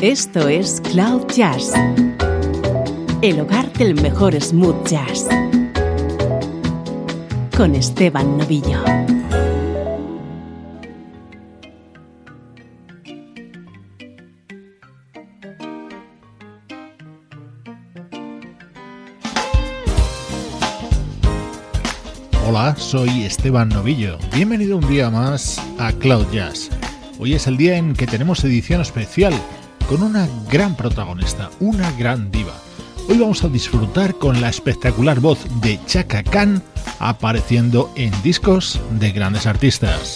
Esto es Cloud Jazz, el hogar del mejor smooth jazz, con Esteban Novillo. Hola, soy Esteban Novillo. Bienvenido un día más a Cloud Jazz. Hoy es el día en que tenemos edición especial con una gran protagonista, una gran diva. Hoy vamos a disfrutar con la espectacular voz de Chaka Khan apareciendo en discos de grandes artistas.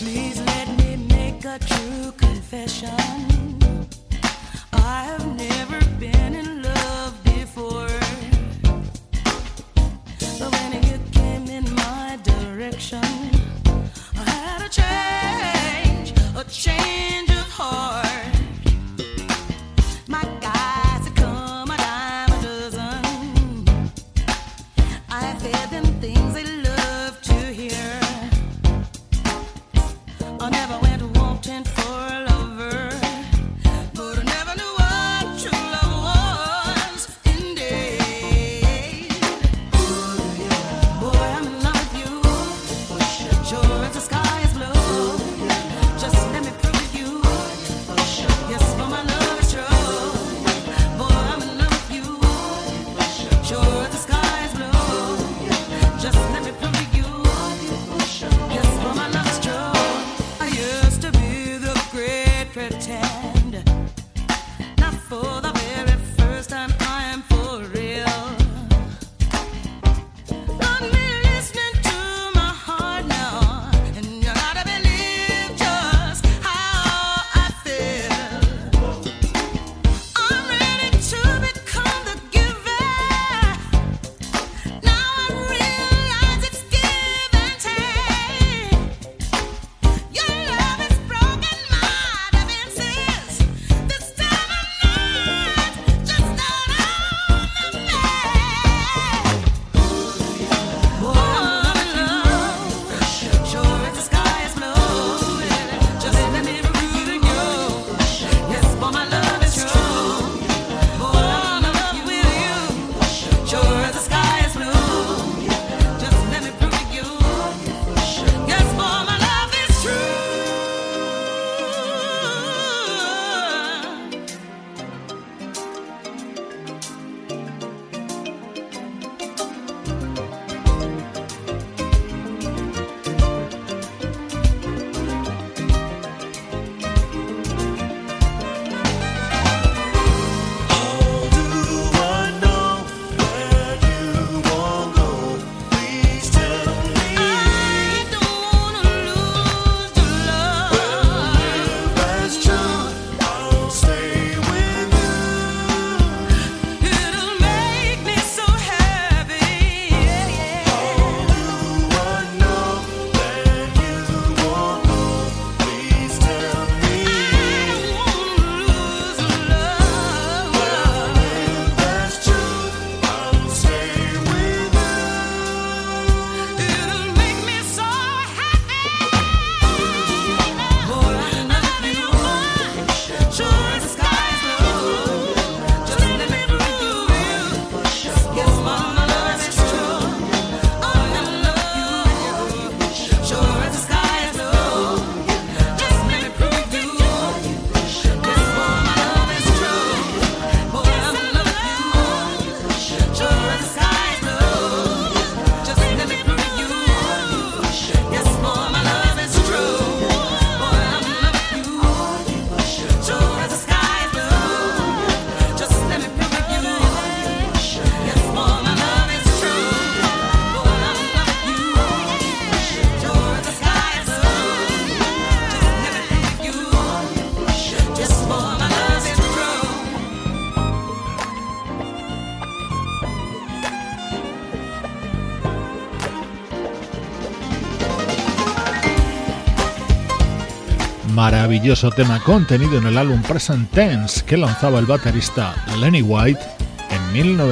Maravilloso tema contenido en el álbum Present Tense que lanzaba el baterista Lenny White en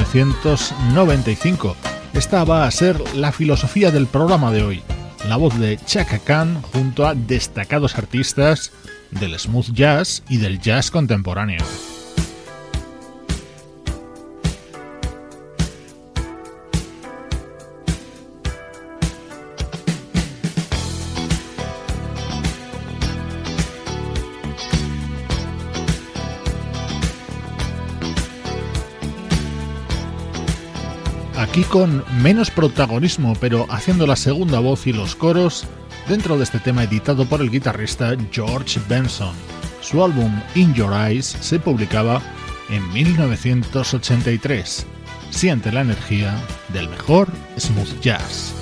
1995. Esta va a ser la filosofía del programa de hoy, la voz de Chaka Khan junto a destacados artistas del smooth jazz y del jazz contemporáneo. aquí con menos protagonismo, pero haciendo la segunda voz y los coros dentro de este tema editado por el guitarrista George Benson. Su álbum In Your Eyes se publicaba en 1983. Siente la energía del mejor smooth jazz.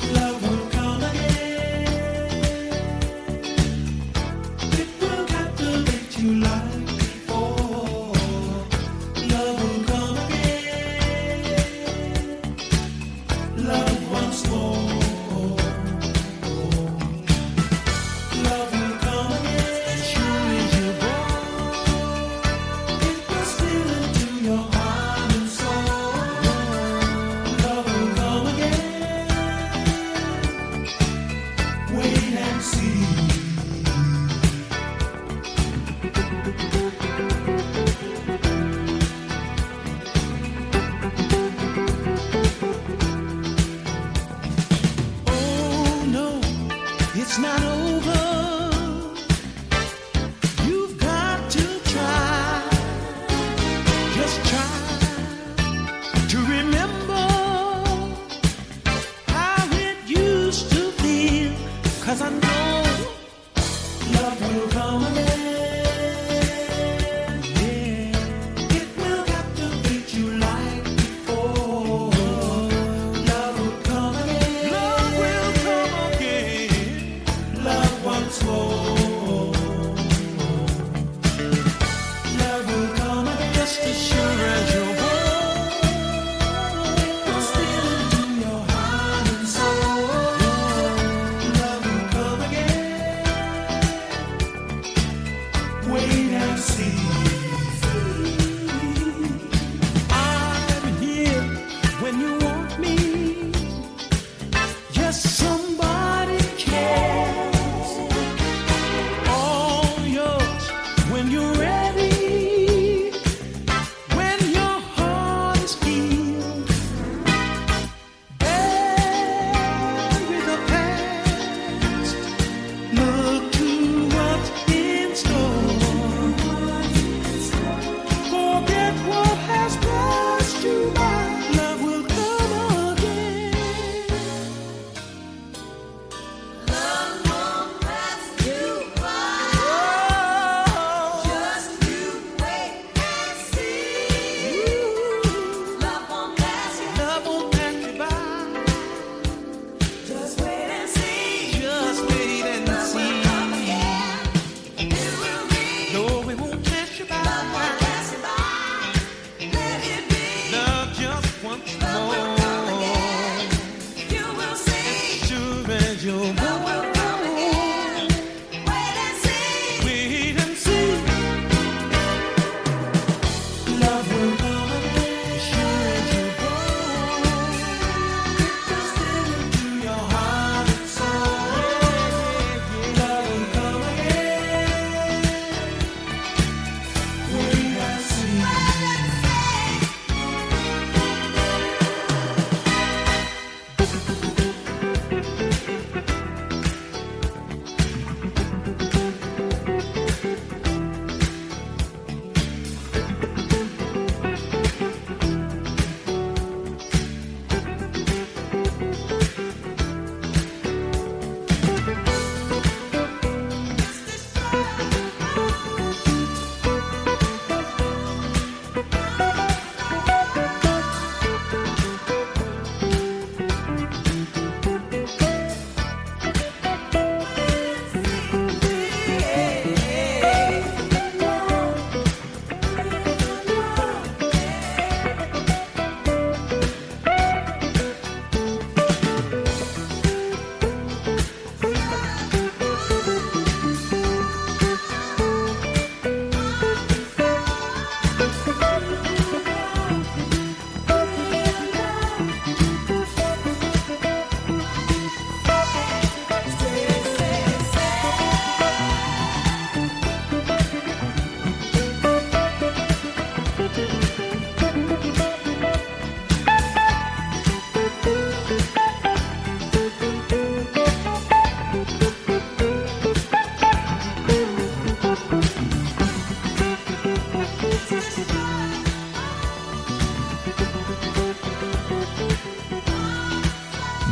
once more.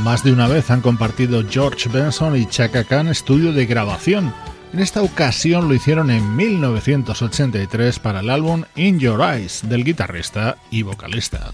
Más de una vez han compartido George Benson y Chaka Khan estudio de grabación. En esta ocasión lo hicieron en 1983 para el álbum In Your Eyes del guitarrista y vocalista.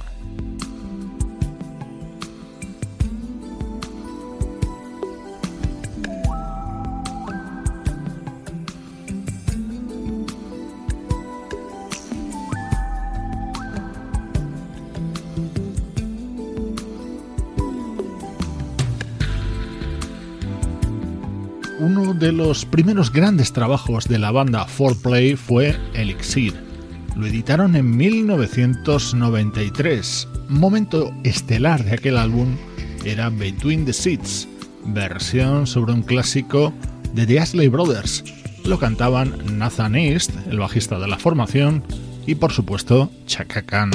Uno de los primeros grandes trabajos de la banda 4Play fue Elixir. Lo editaron en 1993. Momento estelar de aquel álbum era Between the Seats, versión sobre un clásico de The Isley Brothers. Lo cantaban Nathan East, el bajista de la formación, y por supuesto Chaka Khan.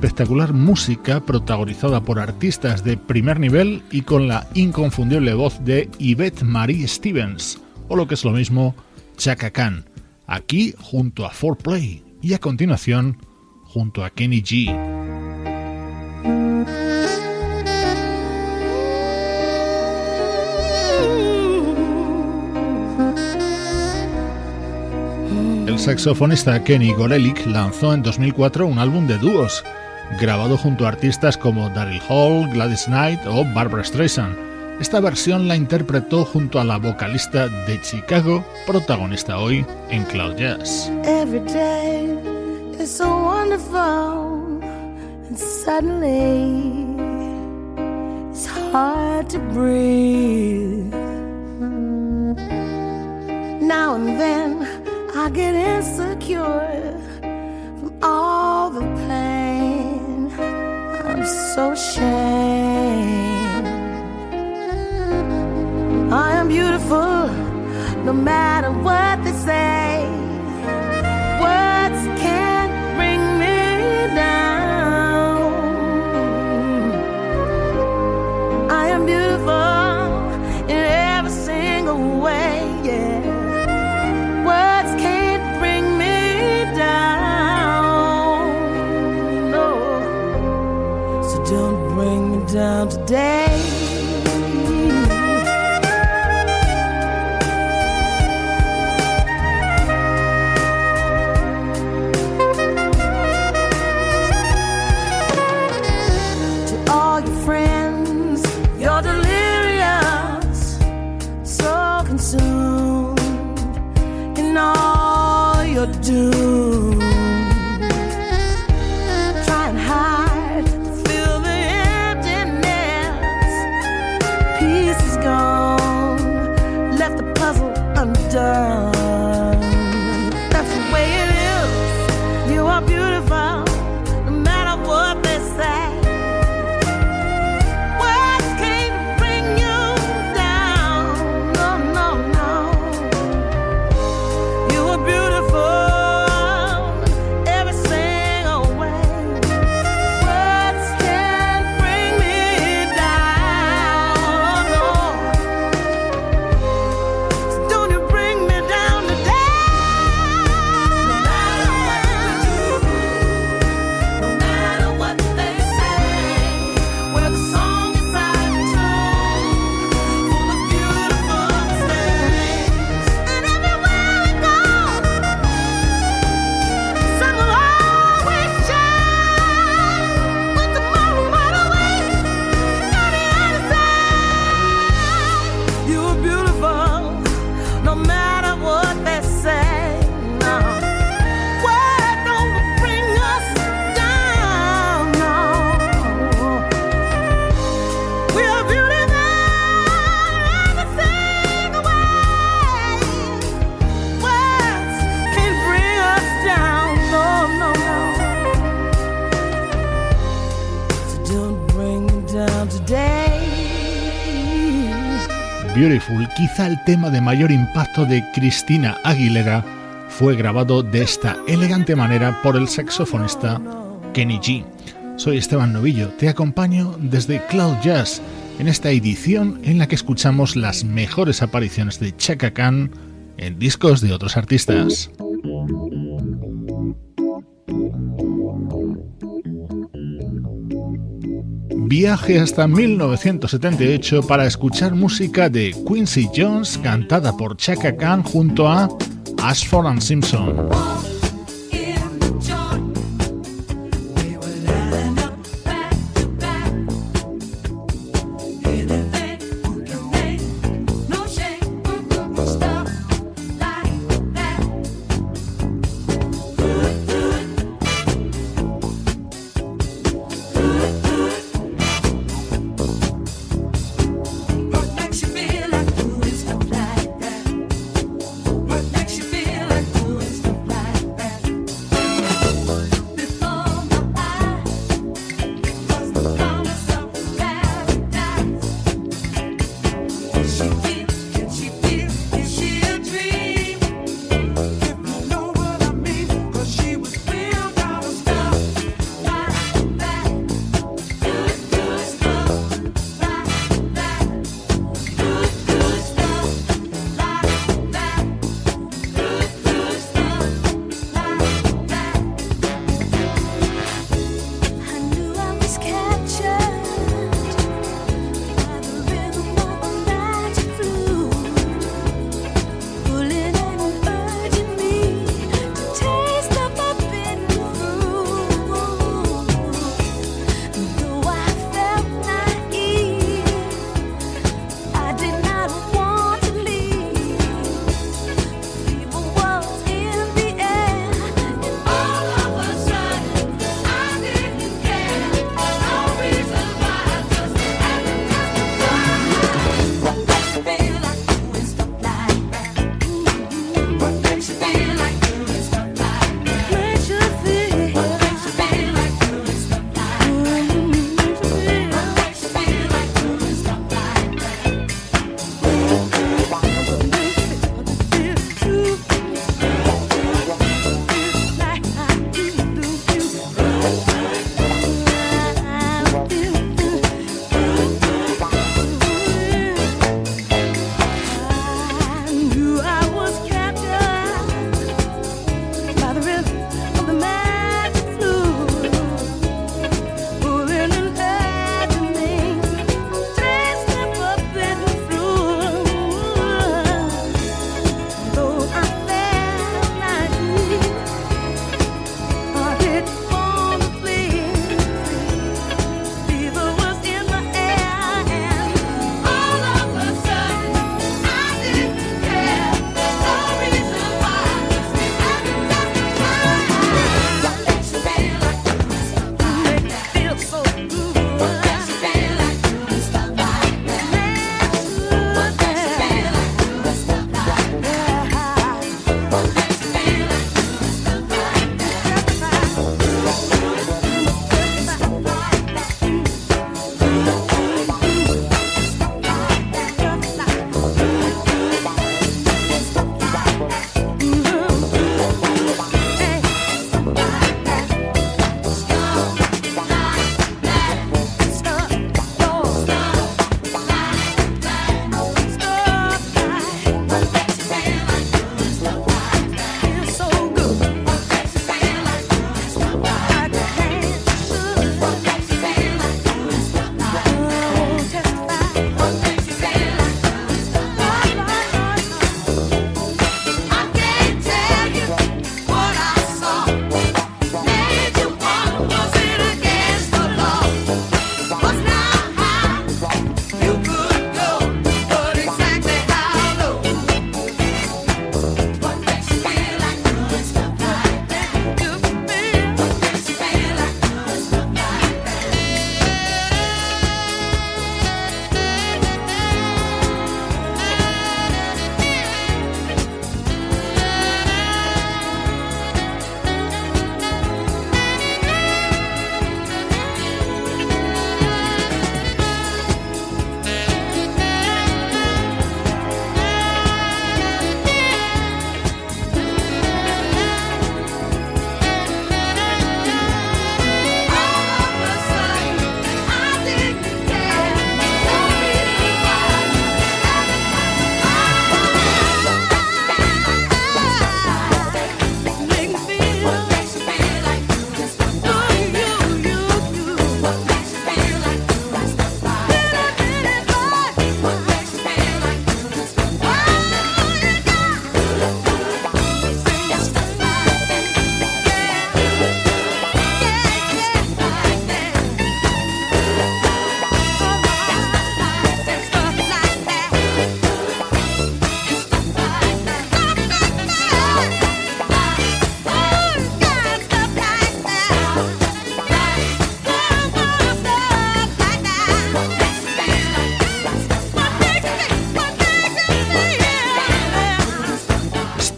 espectacular música protagonizada por artistas de primer nivel y con la inconfundible voz de Yvette Marie Stevens, o lo que es lo mismo, Chaka Khan, aquí junto a 4Play y a continuación junto a Kenny G. El saxofonista Kenny Gorelick lanzó en 2004 un álbum de dúos, grabado junto a artistas como Daryl Hall, Gladys Knight o Barbra Streisand. Esta versión la interpretó junto a la vocalista de Chicago, protagonista hoy en Cloud Jazz. Every day is so wonderful and suddenly it's hard to breathe. Now and then I get insecure from all the pain. I'm so ashamed. I am beautiful no matter what they say. Words can't bring me down. I am beautiful in every single way, yeah. Words can't bring me down, no. So don't bring me down today. To all your friends, you're delirious, so consumed in all you're doomed. Try and hide, feel the emptiness. Peace is gone, left the puzzle undone. That's the way it is. You are beautiful, no matter what they say. Words can't bring you down, no, no, no. You are beautiful every single way. Words can't bring me down, no. So don't you bring me down today. No matter what they say, we're the song inside the tune, full of beautiful mistakes. And everywhere we go, sun will always shine. But tomorrow might away on the other side. You are beautiful, no matter what they say. No, words don't bring us down. No, we are beautiful every single way. Words can't bring us down. No, no, no. So don't bring me down today. Beautiful, quizá el tema de mayor impacto de Christina Aguilera, fue grabado de esta elegante manera por el saxofonista Kenny G. Soy Esteban Novillo, te acompaño desde Cloud Jazz en esta edición en la que escuchamos las mejores apariciones de Chaka Khan en discos de otros artistas. Viaje hasta 1978 para escuchar música de Quincy Jones cantada por Chaka Khan junto a Ashford and Simpson. What makes you feel like doing stuff like that?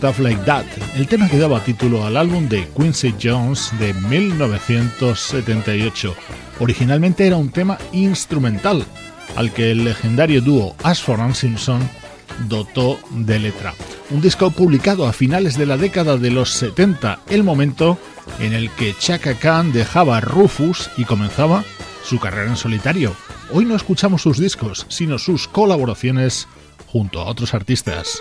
Stuff Like That, el tema que daba título al álbum de Quincy Jones de 1978. Originalmente era un tema instrumental, al que el legendario dúo Ashford and Simpson dotó de letra. Un disco publicado a finales de la década de los 70, el momento en el que Chaka Khan dejaba Rufus y comenzaba su carrera en solitario. Hoy no escuchamos sus discos, sino sus colaboraciones junto a otros artistas.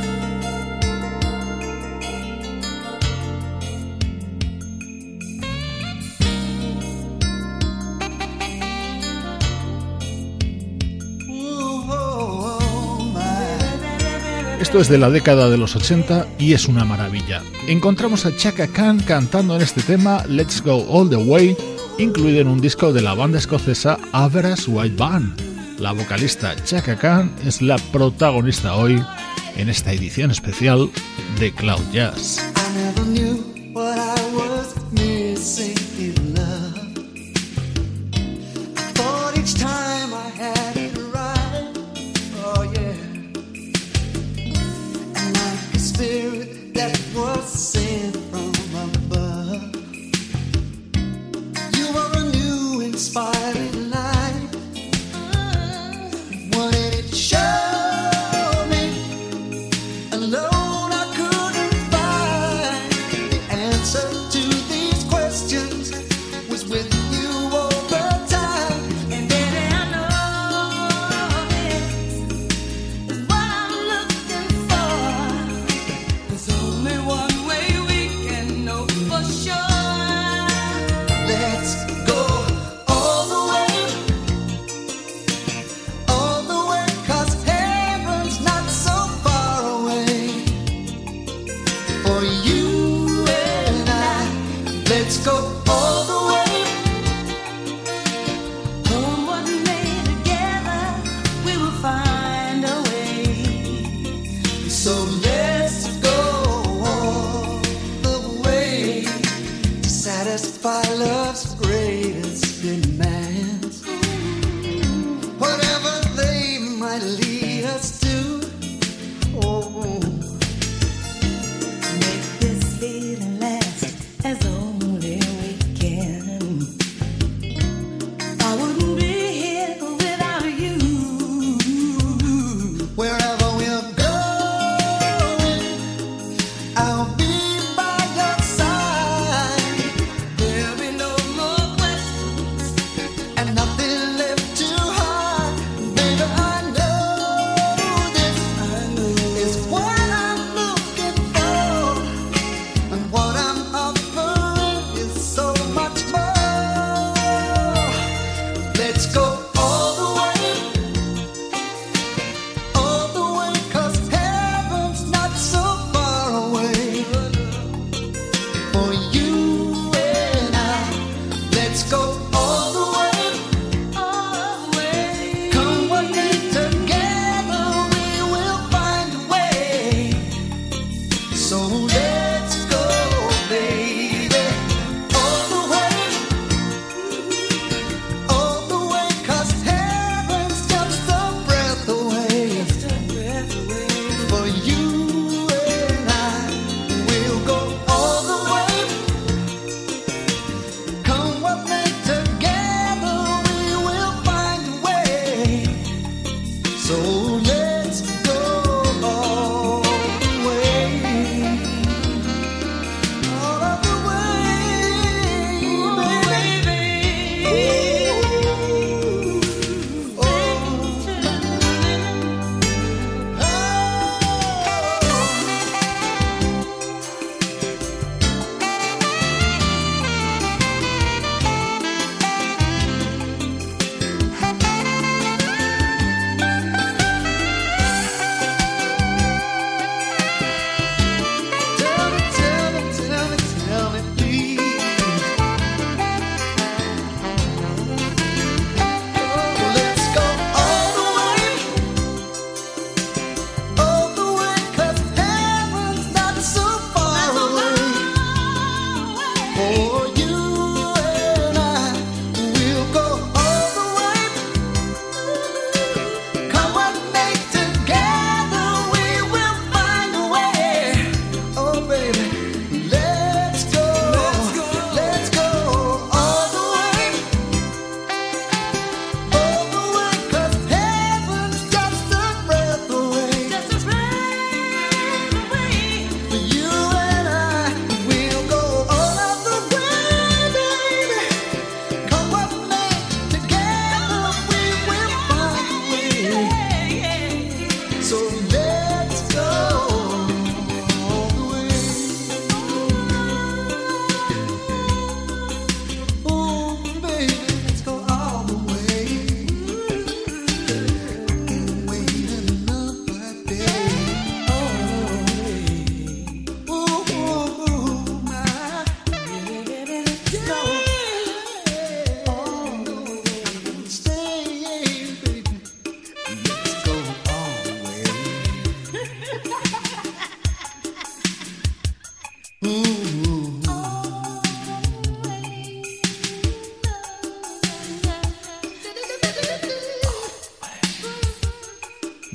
Esto es de la década de los 80 y es una maravilla. Encontramos a Chaka Khan cantando en este tema Let's Go All the Way, incluido en un disco de la banda escocesa Average White Band. La vocalista Chaka Khan es la protagonista hoy en esta edición especial de Cloud Jazz.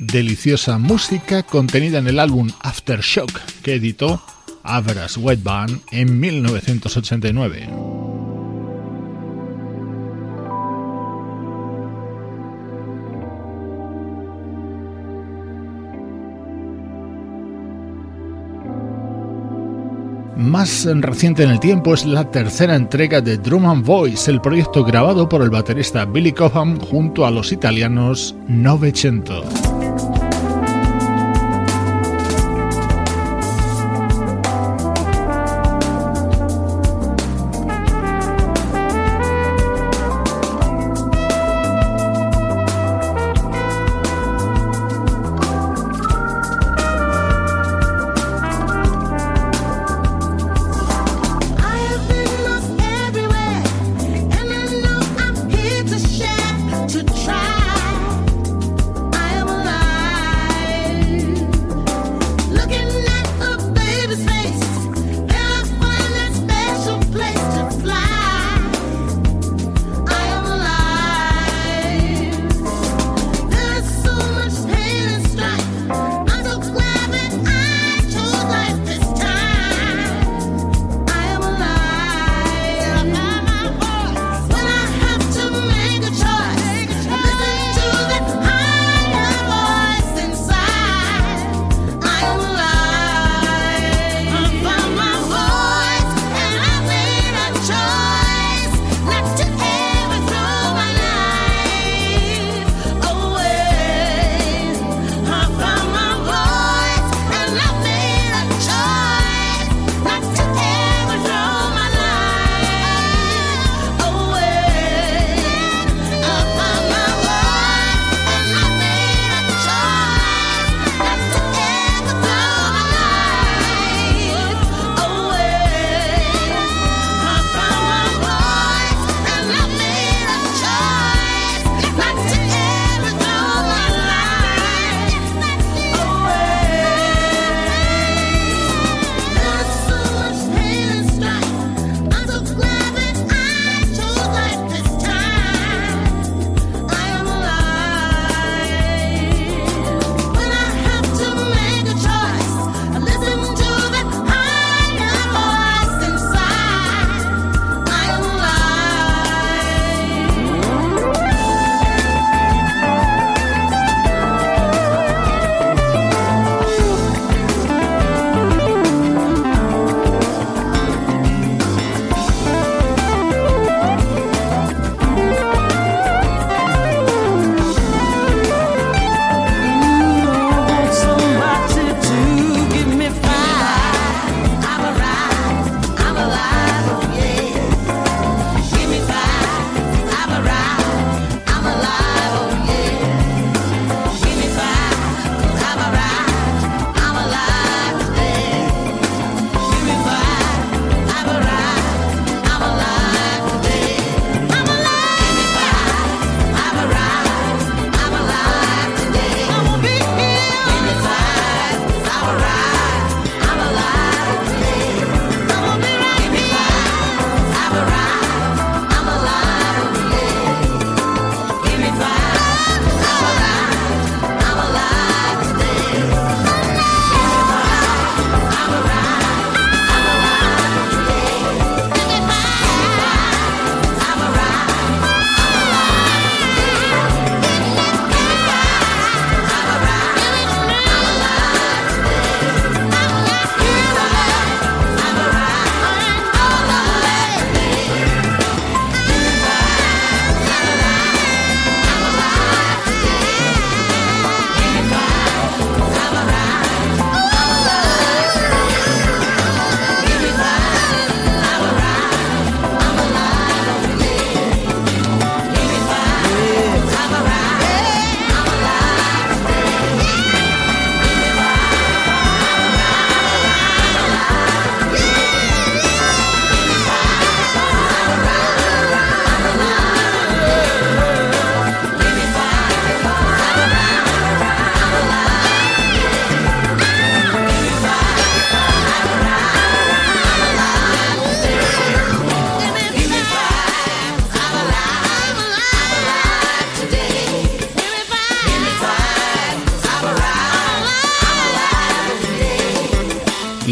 deliciosa música contenida en el álbum Aftershock que editó Average White Band en 1989. Más reciente en el tiempo es la tercera entrega de Drum and Voice, el proyecto grabado por el baterista Billy Cobham junto a los italianos Novecento. To try, I am alive.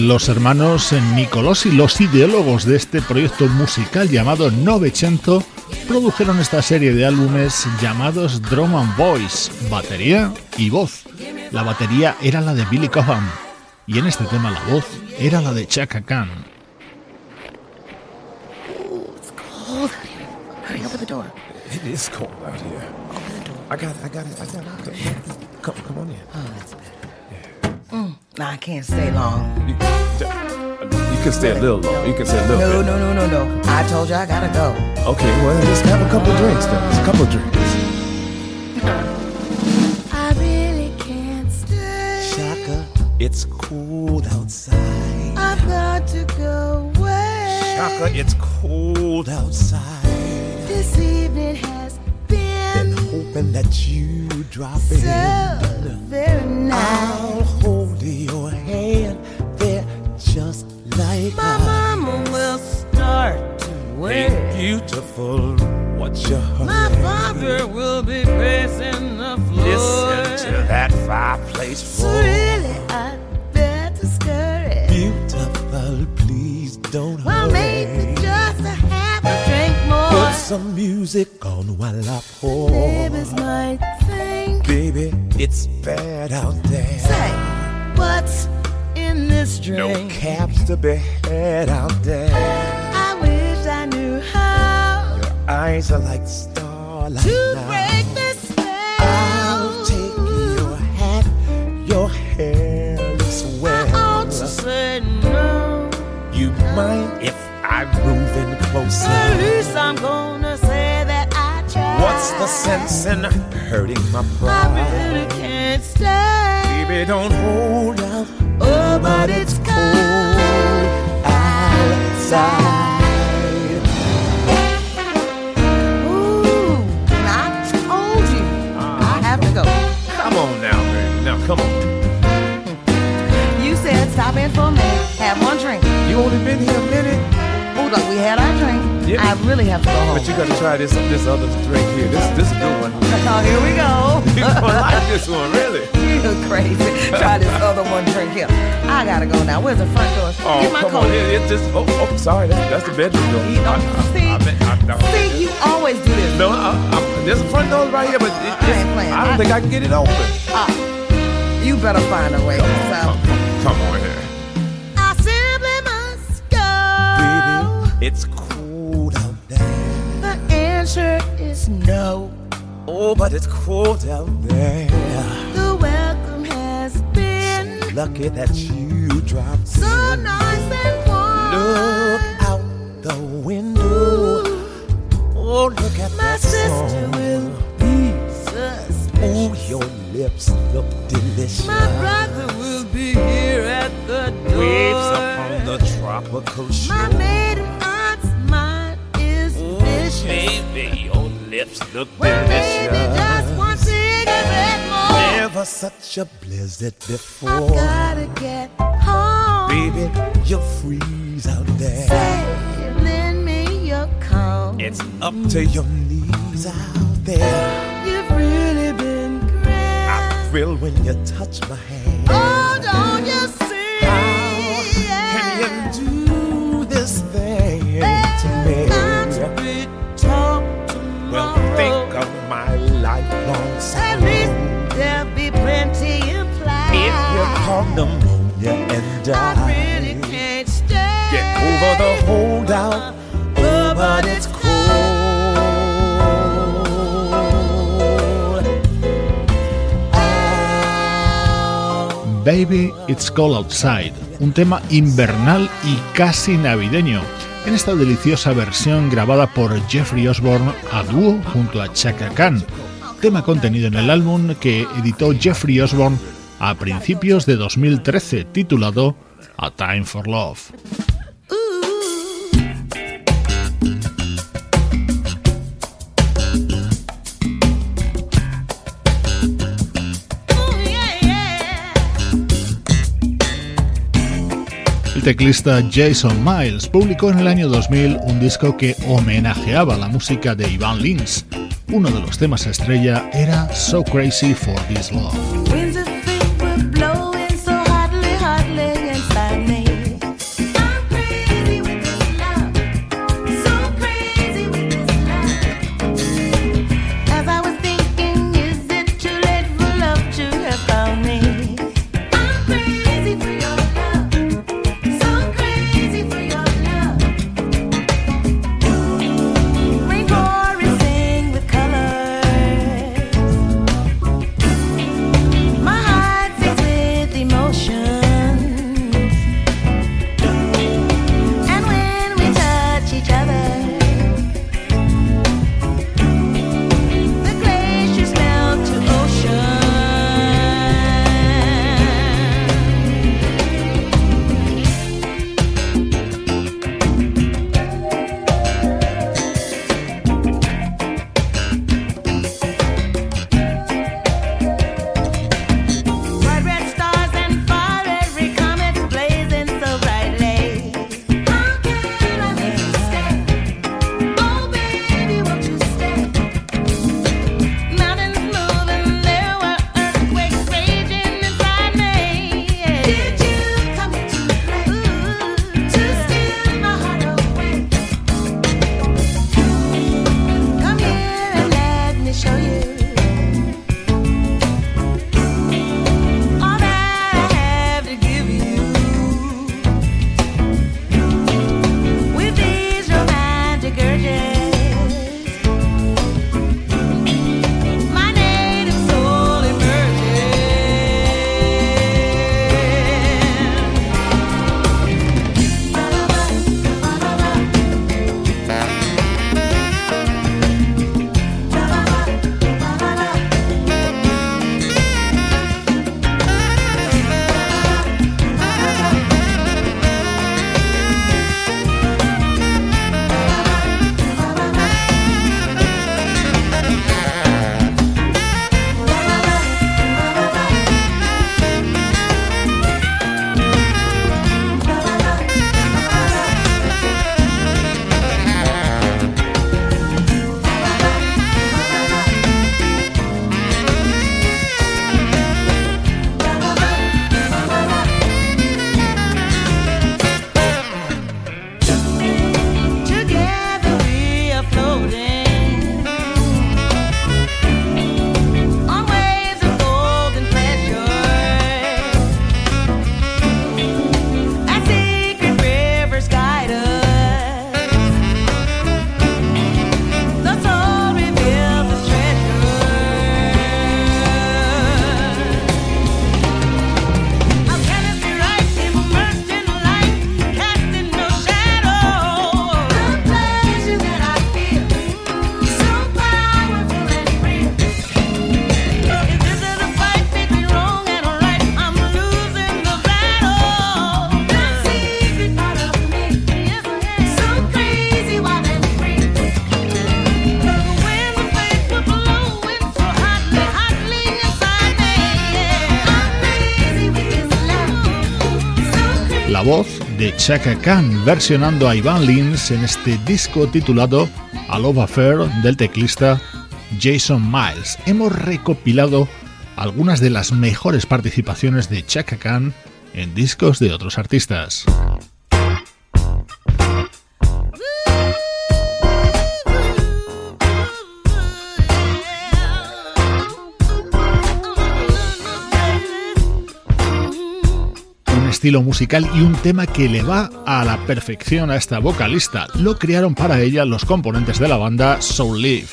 los hermanos Nicolosi, los ideólogos de este proyecto musical llamado Novecento, produjeron esta serie de álbumes llamados Drum and Voice, batería y voz. La batería era la de Billy Cobham y en este tema la voz era la de Chaka Khan. Hurry, open the door. It is cold out here. Open the door. I got it. Come on in. Oh, that's better. Yeah. Nah, I can't stay long. You can stay a little long. You can stay a little bit. No. I told you I gotta go. Okay, well, just have a couple of drinks then. Just a couple of drinks. I really can't stay. Shaka, it's cold outside. I've got to go away. Shaka, it's cold outside. This evening has been Hoping that you drop so in. very nice. I'll hold your hand there just like My mama will start to Hey, wait. beautiful, what's your hurry? My father will be pacing the floor. Listen to that fireplace So roar. really, I better scurry. Beautiful, please don't Well, maybe hurry. just to have a drink more. Put some music on while I pour. Neighbors might think. Baby, it's bad out there. Say, what's in this No drink? cabs to be had out there. I wish I knew how Eyes are like starlight to now. break this spell. I'll take your hat, your hair looks I well. ought to say no. You mind if I move in closer? At least I'm gonna say that I tried. What's the sense in hurting my I pride? really can't stay. Baby, don't hold out. Oh, but it's cold outside. Ooh, I told you. I have to go. Come on now, baby. Now, come on. You said stop in for a minute, have one drink. You only been here a minute, Hold on, we had our drink. Yeah. I really have to go home. but you gotta try this other drink here. This is a good one. Oh, here we go. You gonna like this one, really? You're crazy. Try this other one drink here. I gotta go now. Where's the front door? Oh, Get my come coat. on. It's just, sorry. That's the bedroom door. You don't see, you always do this. No, there's a front door right here, but I ain't playing. I don't think I can get it open. You better find a way. Come on here. I simply must go. Baby, it's cold out there. The answer is no. Oh, but it's cold out there. The welcome has been Lucky that you dropped so in. nice and warm. Look out the window. Oh, look at My that sister sun. will be Oh, suspicious. your lips look delicious. My brother will be here at the door. Waves upon the tropical shore. My maiden aunt's mind is vicious. Baby, your lips look Well, maybe delicious. just one cigarette more. Never such a blizzard I before. gotta get home. Baby, you'll freeze out there. Say, lend me your comb. It's up to your knees out there. You've really been great. I thrill when you touch my hand. Oh, don't you see? How can you do this thing to me? Got to be talked tomorrow. Well, think of my lifelong At sorrow. least there'll be plenty implied. If you caught pneumonia and I die, really can't stay. get over the holdout. Oh, but it's cold. Baby, It's Cold Outside, un tema invernal y casi navideño, en esta deliciosa versión grabada por Jeffrey Osborne a dúo junto a Chaka Khan, tema contenido en el álbum que editó Jeffrey Osborne a principios de 2013, titulado A Time for Love. El teclista Jason Miles publicó en el año 2000 un disco que homenajeaba la música de Ivan Lins. Uno de los temas estrella era So Crazy for This Love. Winds of fate were blowing so hotly, hotly inside me. voz de Chaka Khan versionando a Ivan Lins en este disco titulado A Love Affair del teclista Jason Miles. Hemos recopilado algunas de las mejores participaciones de Chaka Khan en discos de otros artistas. Estilo musical y un tema que le va a la perfección a esta vocalista. Lo crearon para ella los componentes de la banda Soul Leaf.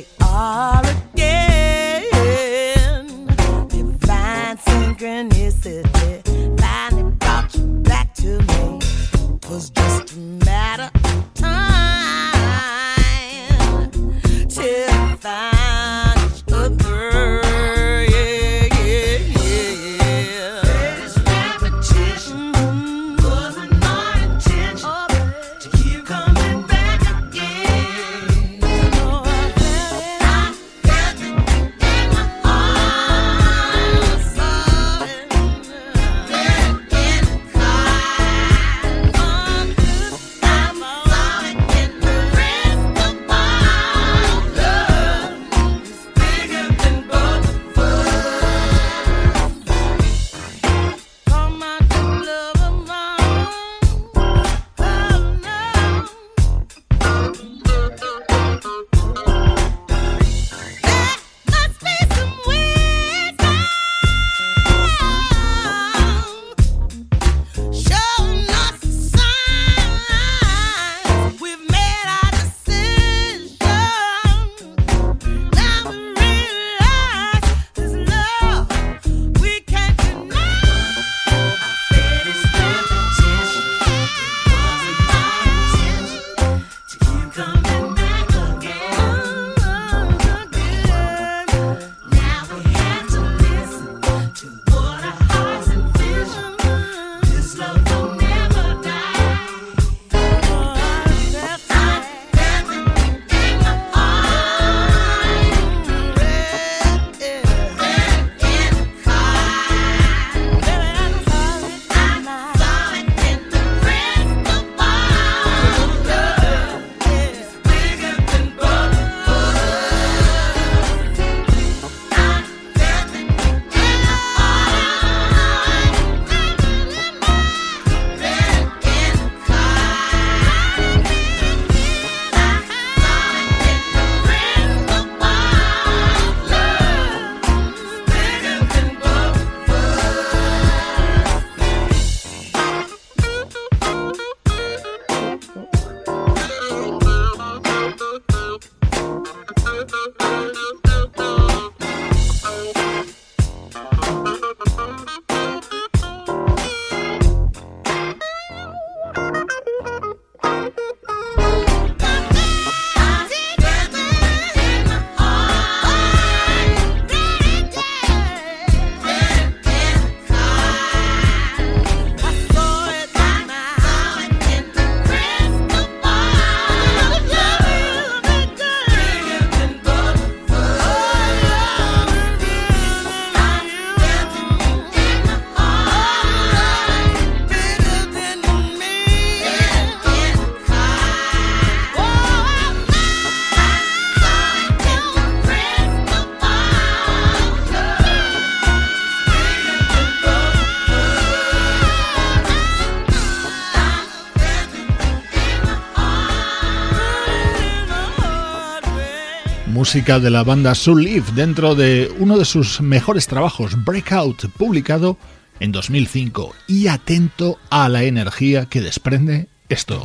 Música de la banda Soul Leaf dentro de uno de sus mejores trabajos, Breakout, publicado en 2005. Y atento a la energía que desprende esto.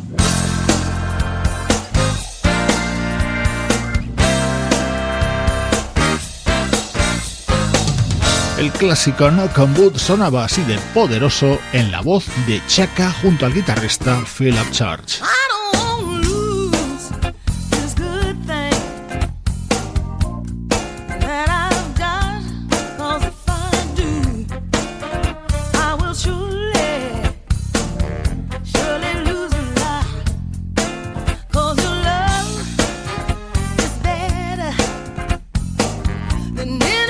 El clásico Knock on Wood sonaba así de poderoso en la voz de Chaka junto al guitarrista Philip Church.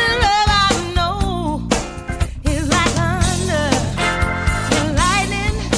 Lightning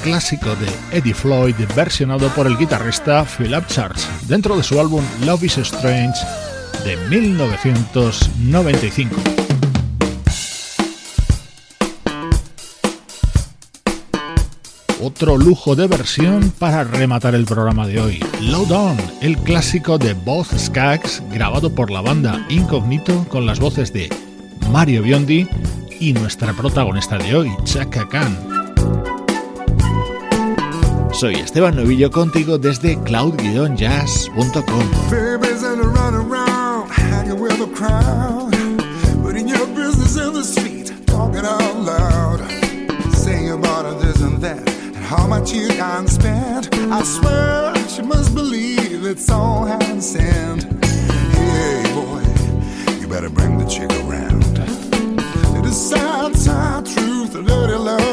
clásico de Eddie Floyd versionado por el guitarrista Philip Church dentro de su álbum Love is Strange de 1995. Otro lujo de versión para rematar el programa de hoy. Load On, el clásico de Boz Scaggs, grabado por la banda Incognito con las voces de Mario Biondi y nuestra protagonista de hoy, Chaka Khan. Soy Esteban Novillo contigo desde cloud-jazz.com. How much you can spend, I swear she must believe it's all hand sent. Hey boy, you better bring the chick around. It is sad, sad truth, a dirty love